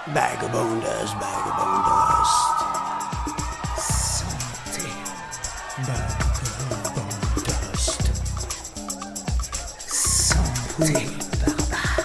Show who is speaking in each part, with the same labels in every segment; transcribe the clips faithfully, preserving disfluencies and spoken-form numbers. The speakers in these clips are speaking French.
Speaker 1: Vagabonders, vagabonders.
Speaker 2: Santé.
Speaker 1: Vagabonders.
Speaker 2: Santé, barbare.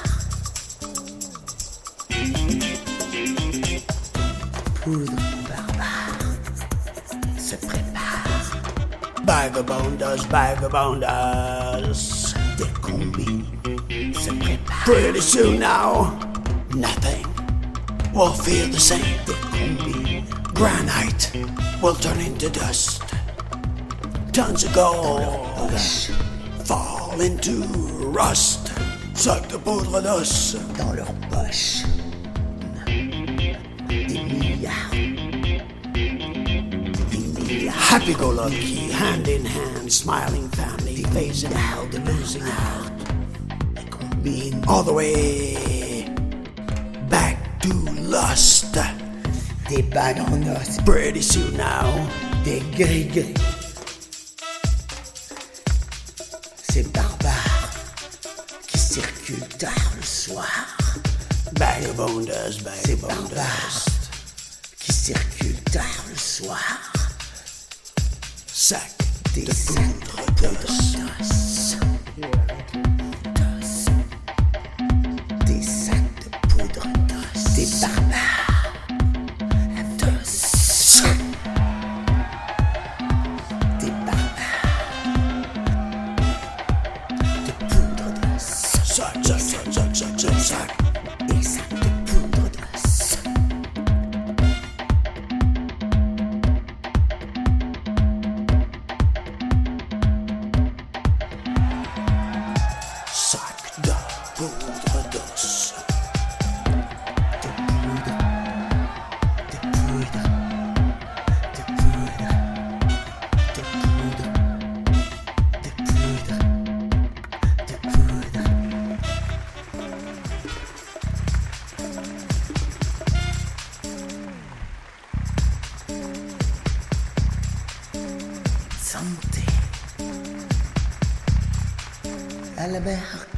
Speaker 2: Poudre barbare se prépare.
Speaker 1: Vagabonders, vagabonders.
Speaker 2: Des combis se préparent.
Speaker 1: Pretty soon now, nothing will feel the same.
Speaker 2: Des combis
Speaker 1: Granite will turn into dust. Tons of gold
Speaker 2: poches,
Speaker 1: fall into rust. Sac de poudre d'os.
Speaker 2: dans leurs poches. Des milliards. Des milliards.
Speaker 1: Happy-go-lucky, hand in hand, smiling family, phasing out the losing out.
Speaker 2: Des combines.
Speaker 1: All the way back to lust.
Speaker 2: Des bagues en os.
Speaker 1: Pretty soon now,
Speaker 2: Des gris-gris. Ces barbares qui circulent tard le soir.
Speaker 1: vagabonders,
Speaker 2: Ces
Speaker 1: vagabonders.
Speaker 2: barbares qui circulent tard le soir.
Speaker 1: Sac
Speaker 2: Des
Speaker 1: de
Speaker 2: sacs
Speaker 1: poudre
Speaker 2: de
Speaker 1: d'os.
Speaker 2: d'os. D'os. Des sacs de poudre d'os. Des barbares à d'os. Des barbares de poudre d'os.
Speaker 1: Sac, sac, sac, sac, sac, sac, sac.
Speaker 2: Des sacs de poudre d'os.
Speaker 1: Sac de poudre d'os.
Speaker 2: De poudre. De poudre. De poudre. De poudre. De poudre. De poudre. Santé. À la mer.